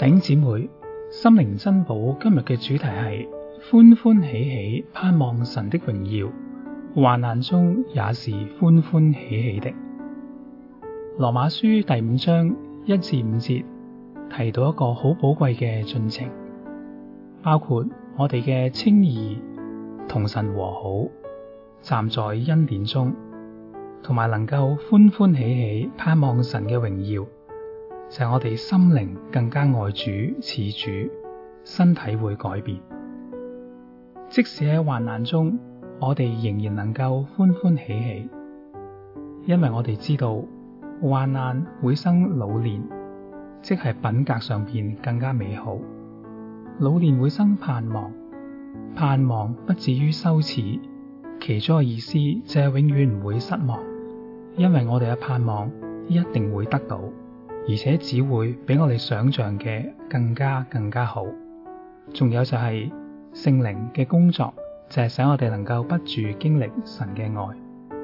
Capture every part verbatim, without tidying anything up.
弟兄姊妹，心靈珍寶今日嘅主題係歡歡喜喜盼望神的榮耀，患難中也是歡歡喜喜的。羅馬書第五章一至五節提到一個好寶貴嘅進程，包括我哋嘅稱義、同神和好、站在恩典中，同埋能夠歡歡喜喜盼望神嘅榮耀，就係我哋心靈更加愛主似主，身體會改變。即使喺患難中，我哋仍然能夠歡歡喜喜，因為我哋知道患難會生老練，即係品格上邊更加美好。老練會生盼望，盼望不至於羞恥，其中嘅意思就係永遠唔會失望，因為我哋嘅盼望一定會得到，而且只會比我哋想象嘅更加更加好。仲有就係聖靈嘅工作，就係使我哋能夠不住經歷神嘅愛。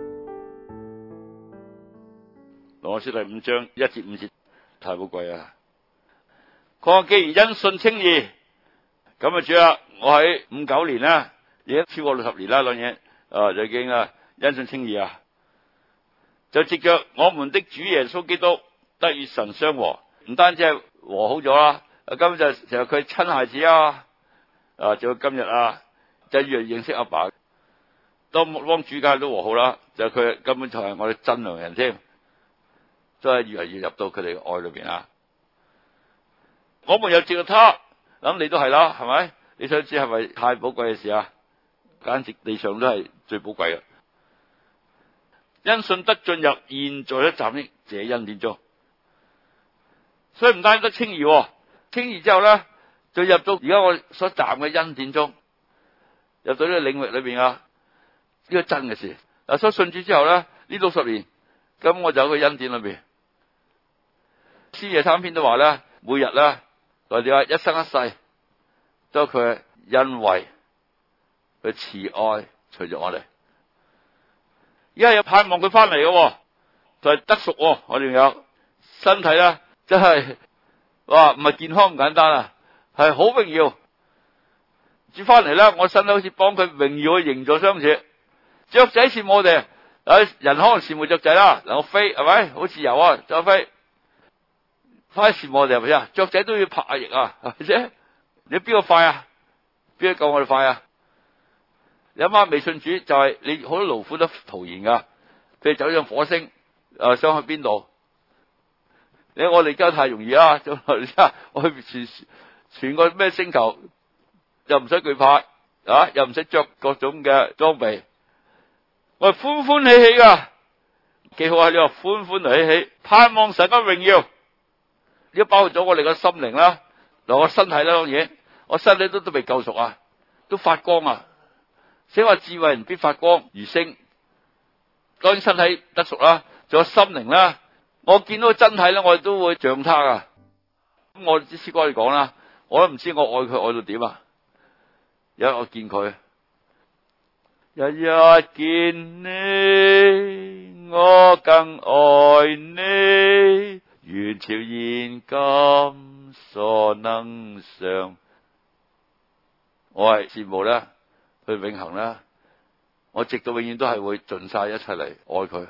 羅馬書第五章一至五節太寶貴啊！佢話既然因信稱義，咁啊主啊，我喺五九年啦，已經超過六十年啦，兩嘢啊就已經啊因信稱義啊，就藉着我們的主耶穌基督得與神相和，唔單止係和好咗啦，根本就成日佢親孩子啊，啊，就今日啊，就越嚟認識阿爸，當幫主家都和好啦，就佢根本就係我哋真良人添，都係越嚟越入到佢哋嘅愛裏邊啊！我們又藉着他，咁你都係啦，係咪？你想知係咪太寶貴嘅事啊？簡直地上都係最寶貴嘅，因信得進入現在一站的這恩典中。所以唔單止得稱義，稱義之後咧，就入到而家我所站嘅恩典中，入到呢個領域裏邊啊，呢個真嘅事。嗱，所以信主之後咧，呢六十年，咁我就喺個恩典裏邊。詩夜三篇都話咧，每日咧，或者話一生一世，都佢恩惠、佢慈愛隨住我哋。而家有盼望佢翻嚟嘅，就係、是、得贖。我哋有身體咧。真係哇，唔係健康咁簡單啊，係好榮耀。主翻嚟咧，我身體好似幫佢榮耀嘅形狀相似。雀仔羨慕我哋，誒，人可能羨慕雀仔啦，能夠飛係咪？好自由啊，就飛。快羨慕我哋係咪啊？雀仔都要拍下翼啊，係咪先？你邊個快啊？邊個夠我哋快啊？你諗下未信主就係、是、你好多勞苦都徒然噶，譬如走上火星，誒、呃，想去邊度？你我哋而家太容易啦，我去全全個咩星球又唔使懼怕啊，又唔使着各種嘅裝備，我係歡歡喜喜噶，幾好啊！你話歡歡喜喜，盼望神嘅榮耀，呢包括咗我哋個心靈啦，嗱我身體啦，當然我身體都都未救贖啊，都發光啊！寫話智慧人必發光如星，當然身體得贖啦，仲有心靈啦。我見到真體咧，我哋都會像他啊！咁我啲詩歌嚟講啦，我都唔知我愛佢愛到點啊！有一日我見佢，日日見你，我更愛你，如超現今所能想。我係羨慕咧，佢永恆咧，我直到永遠都係會盡晒一齊嚟愛佢。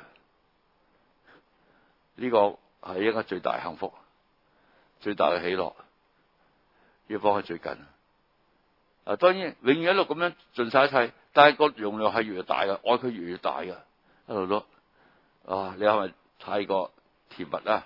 呢個係一個最大幸福、最大嘅喜樂，要幫佢最近。啊，當然永遠一路咁樣盡晒一切，但係個容量係越嚟越大嘅，愛佢越嚟越大嘅，一路都啊，你係咪太過甜蜜啦？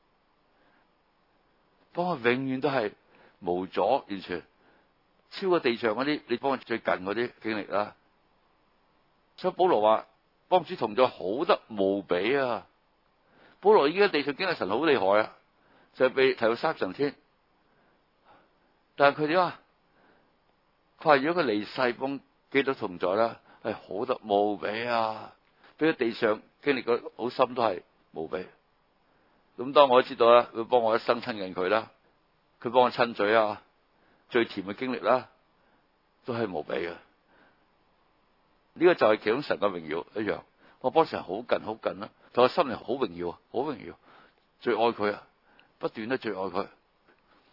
幫佢永遠都係無阻，完全超過地上嗰啲，你幫佢最近嗰啲經歷啦。所以保羅話，幫主同在好得無比啊！保羅已經喺地上經歷神好厲害啊，就係、是、被提到三層天。但係佢點啊？佢話如果佢離世幫基督同在啦，係好得無比啊！比佢地上經歷過好深都係無比。咁當我知道啦，佢幫我一生親近佢啦，佢幫我親嘴啊，最甜嘅經歷啦，都係無比嘅。呢、這個就係其中神嘅榮耀一樣。我幫神好近好近啦，同我心靈好榮耀啊，好榮耀，最愛佢啊，不斷都最愛佢，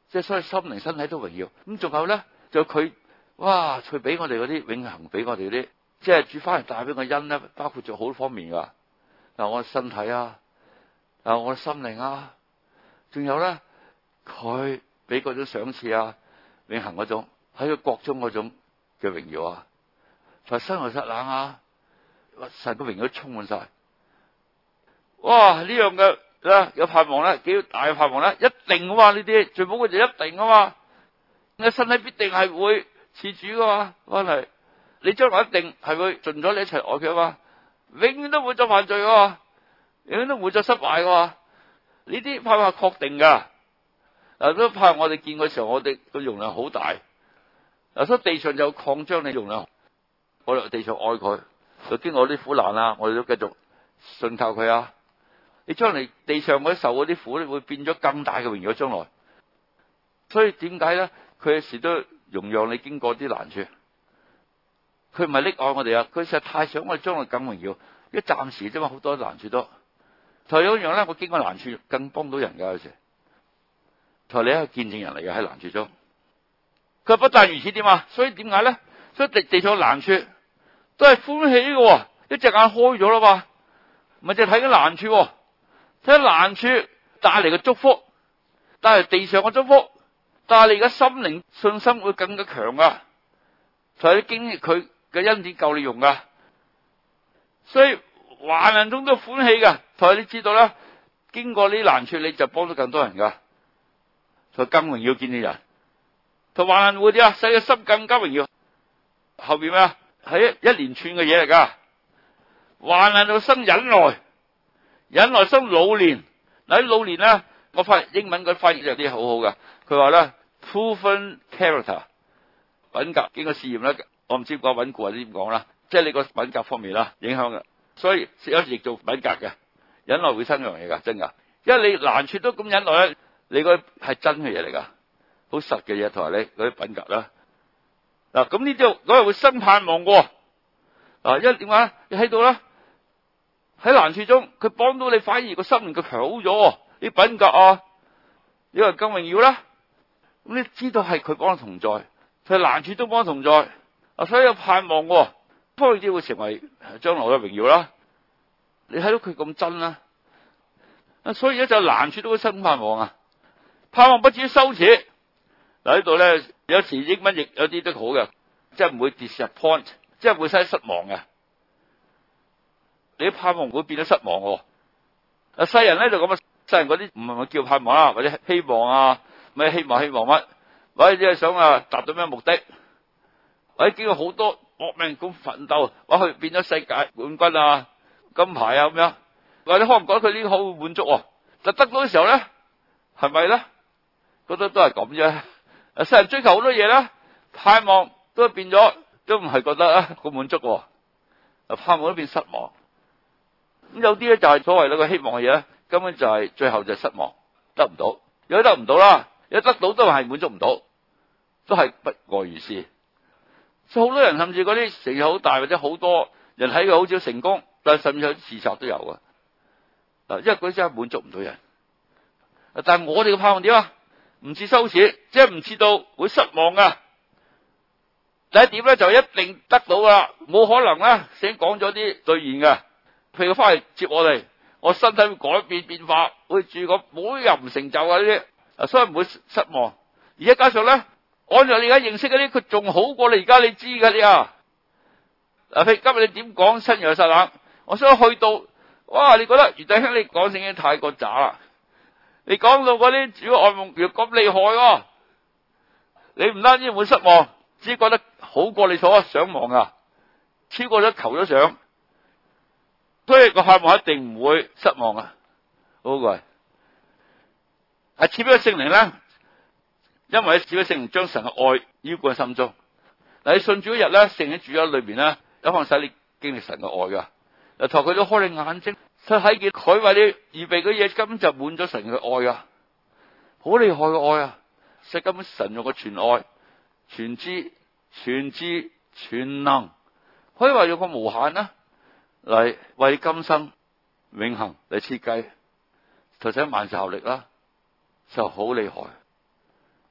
即係所以心靈身體都榮耀。咁仲有咧，就佢哇，佢俾我哋嗰啲永恆，俾我哋嗰啲，即係主翻嚟帶俾我恩咧，包括做好多方面噶。嗱，我身體啊，嗱，我心靈啊，仲有咧，佢俾嗰種賞賜啊，永恆嗰種喺個國中嗰種嘅榮耀啊，就係新耶路撒冷啊，神個榮耀都充滿晒。哇！呢樣嘅啦，有盼望咧，幾大嘅盼望咧，一定噶嘛，呢啲最寶貴就一定噶嘛。你身體必定係會似主噶嘛，翻嚟你將來一定係會盡咗你一齊愛佢啊嘛，永遠都唔會再犯罪噶嘛，永遠都唔會再失敗噶嘛。呢啲盼望係確定噶。嗱，都盼望我哋見嘅時候，我哋個容量好大。嗱，所以地上就擴張你容量，我哋地上愛佢，就經過啲苦難啊，我哋都繼續信靠佢啊。你將來地上嗰啲受嗰啲苦咧，會變咗更大嘅榮耀將來。所以點解咧？佢有時都容讓你經過啲難處。佢唔係溺愛我哋啊，佢實在太想我哋將來更榮耀。一暫時啫嘛，好多難處都。同樣一樣咧，我經過難處更幫到人噶有時。同你係見證人嚟嘅喺難處中。佢不但如此點啊？所以點解咧？所以地地上難處都係歡喜嘅，一隻眼開咗啦嘛，唔係淨係睇緊難處。睇難處帶嚟嘅祝福，帶嚟地上嘅祝福，帶嚟而家心靈信心會更加強啊！同你經歷佢嘅恩典夠你用噶，所以患難中都歡喜噶。同你知道啦，經過呢啲難處，你就幫到更多人噶，就更榮耀見證人。同患難會點啊？使嘅心更加榮耀。後邊咩啊？係一連串嘅嘢嚟噶。患難就生忍耐。忍耐生老練，嗱啲老練咧，我發現英文嗰翻譯有啲好好噶。佢話咧 proven character 品格經過試驗咧，我唔知講穩固或者點講啦，即係你個品格方面啦影響嘅。所以有時亦做品格嘅忍耐會生樣嘢噶，真噶。因為你難處都咁忍耐咧，你嗰係真嘅嘢嚟噶，好實嘅嘢，同埋你嗰啲品格啦。嗱咁呢啲嗰日會生盼望嘅。嗱，因為點解你喺度啦？喺難處中，佢幫到你，反而個心靈佢強好咗，啲品格啊，你話更榮耀啦。咁你知道係佢幫同在，佢難處都幫同在，啊，所以有盼望，幫佢啲會成為將來嘅榮耀啦。你睇到佢咁真啦，啊，所以而家就難處都會生盼望啊，盼望不至於羞恥。嗱呢度咧，有時英文亦有啲都好嘅，即係唔會 disappoint，即係唔會使失望嘅。你啲盼望唔會變咗失望喎。啊，世人咧就咁啊，世人嗰啲唔係咪叫盼望啊，或者希望啊，咩希望希望乜，或者只係想啊達到咩目的，或者經過好多搏命咁奮鬥，或者變咗世界冠軍啊、金牌啊咁樣，或者可能覺得佢呢個好滿足喎，就得到嘅時候咧，係咪咧？覺得都係咁啫。啊，世人追求好多嘢啦，盼望都變咗，都唔係覺得啊好滿足喎，啊盼望都變失望。咁有啲咧就係所謂呢個希望嘅嘢咧，根本就係最後就係失望，得唔到，有啲得唔到啦，有得到都係滿足唔到，都係不外如是。所以好多人甚至嗰啲成就好大，或者好多人睇佢好少成功，但係甚至有啲自殺都有啊。嗱，因為嗰啲真係滿足唔到人。但係我哋嘅盼望點啊？唔似羞恥，即係唔似到會失望噶。第一點咧就一定得到噶啦，冇可能啦，先講咗啲兌現嘅。譬如佢翻嚟接我哋，我身體會改變變化，會住個冇任成就啊呢啲，啊所以唔會失望。而家加上咧，按照你而家認識嗰啲，佢仲好過你而家你知㗎啲啊。嗱，譬如今日你點講新耶路撒冷，我想去到，哇！你覺得余弟兄你講聖經太過渣啦，你講到嗰啲主愛夢要咁厲害喎，你唔單止會失望，只覺得好過你所想望啊，超過咗求咗想。所以個盼望一定唔會失望啊！好貴，係賜俾聖靈咧，因為賜俾聖靈將神嘅愛澆灌喺心中。嗱，你信主嗰日咧，聖靈住喺裏邊咧，有可能使你經歷神嘅愛噶。嗱，同佢都開你眼睛，佢睇見佢為你預備嘅嘢，根本就滿咗神嘅愛啊！好厲害嘅愛啊！即係根本神用個全愛、全知、全知、全能，可以話用個無限啊！嚟為今生永恆嚟設計，就使萬事效力啦，就好厲害。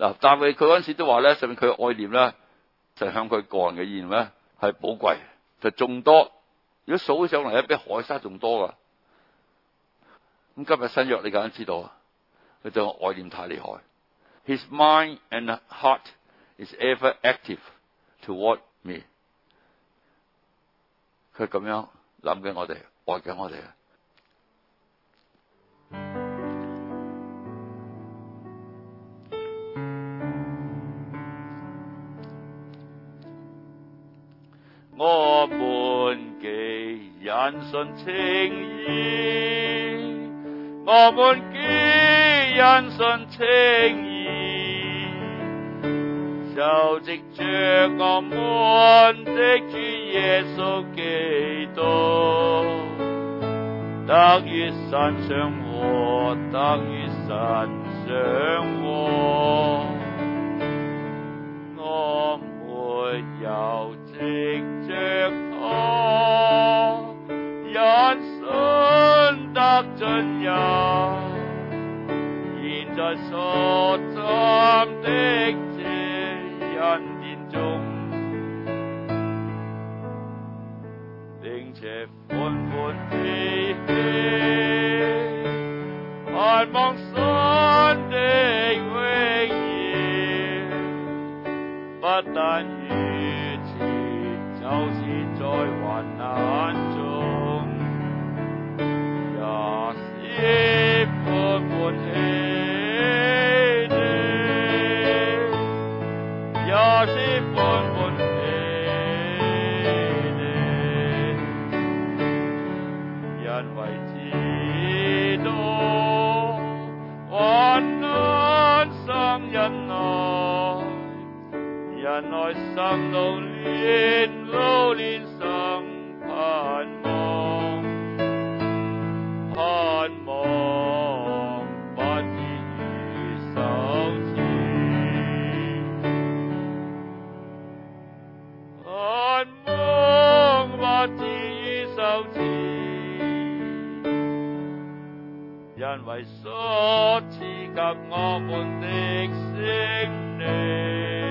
嗱，但係佢嗰陣時都話咧，上面佢嘅愛念咧，就向佢個人嘅意念咧係寶貴，就眾多。如果數起上嚟咧，比海沙仲多噶。咁今日新約你梗係知道啊，佢對我愛念太厲害。His mind and heart is ever active toward me。佢咁樣諗緊我哋，愛緊我哋啊！我們既因信稱義，我們既因信稱義，就藉着我們的主耶穌基督，得與神相和，得與神相和。我沒有藉着他，因信得進入現在所站的這恩典中，並且歡歡喜喜盼望神的榮耀，不但如此，就是在患難中，也是歡歡喜的，也是歡歡喜的，因為知道患難生忍耐，忍耐生老練，老練生盼望，盼望不至於羞恥，盼望不至於羞恥，因為所賜給我們的聖靈，